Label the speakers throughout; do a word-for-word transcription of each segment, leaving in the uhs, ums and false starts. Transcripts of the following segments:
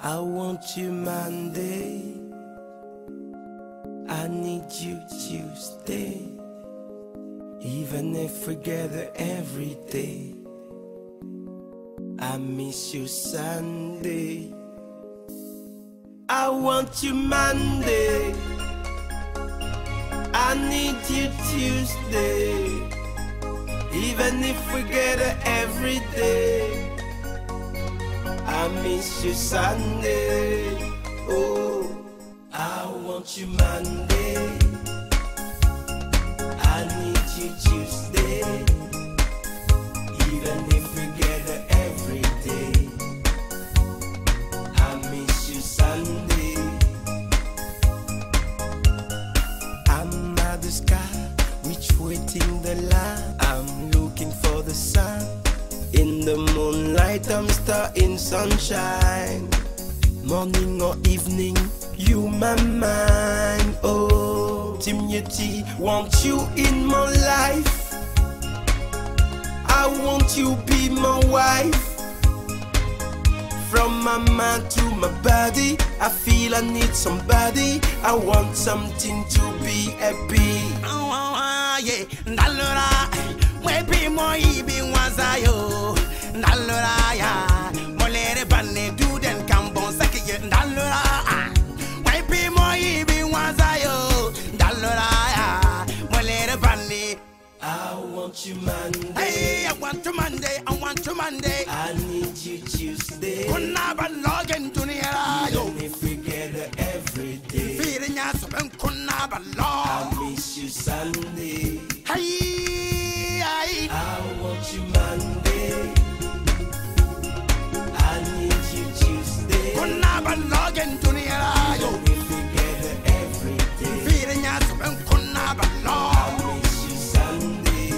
Speaker 1: I want you Monday. I need you Tuesday. Even if we gather every day, I miss you Sunday. I want you Monday. I need you Tuesday. Even if we gather every day, I miss you Sunday. Oh, I want you Monday. I need you Tuesday. Even if we gather every day, I miss you Sunday. I'm at the sky, which waiting the line. I'm looking for the sun. In the moonlight, I'm star in sunshine. Morning or evening, you my mind. Oh, Timothy, want you in my life. I want you be my wife. From my mind to my body, I feel I need somebody. I want something to be happy.
Speaker 2: Oh, oh, oh yeah, Nalora, maybe more be wazayo. Nalora, ya, molere banne do den kambon saki Nalora, maybe more be wazayo. Nalora, ya, molere banne.
Speaker 1: I want you Monday.
Speaker 2: Hey, I want you Monday. I want you Monday.
Speaker 1: I need you Tuesday.
Speaker 2: Kunna ba login dunia yo.
Speaker 1: Even if we gather every day,
Speaker 2: Feeling ya so ben kunna ba log.
Speaker 1: I miss you Sunday.
Speaker 2: Hey, I.
Speaker 1: I want you Monday. I need you Tuesday.
Speaker 2: Kunna ba login dunia yo.
Speaker 1: Even if we gather every day,
Speaker 2: Feeling ya so ben kunna ba log.
Speaker 1: I miss you Sunday.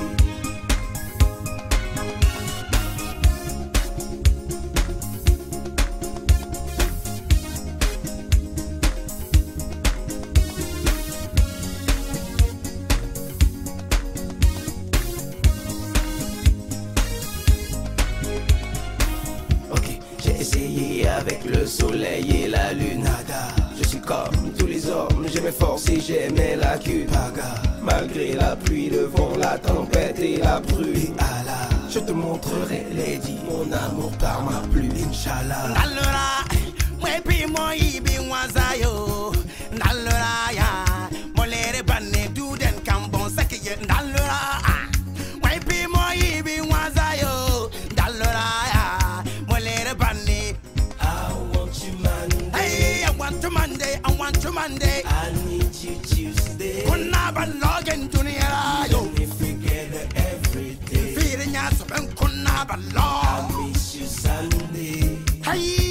Speaker 1: J'ai essayé avec le soleil et la lune. Nada. Je suis comme tous les hommes, j'ai mes forces et j'ai mes lacunes. Paga. Malgré la pluie, le vent, la tempête et la brume. Allah, je te montrerai, Lady, mon amour par ma plume. Inch'Allah.
Speaker 2: Nalora, maybe more be wazayo. Nalora, ya, molere banne do den kambon saki Nalora, maybe more be wazayo. Nalora, ya, molere banne.
Speaker 1: I want you Monday.
Speaker 2: Hey, I want you Monday. I want you Monday.
Speaker 1: I need you Tuesday.
Speaker 2: Kunna ba login dunia yo.
Speaker 1: Even if we gather every day,
Speaker 2: Feeling ya so ben kunna ba
Speaker 1: I
Speaker 2: log.
Speaker 1: miss you Sunday.
Speaker 2: Hey.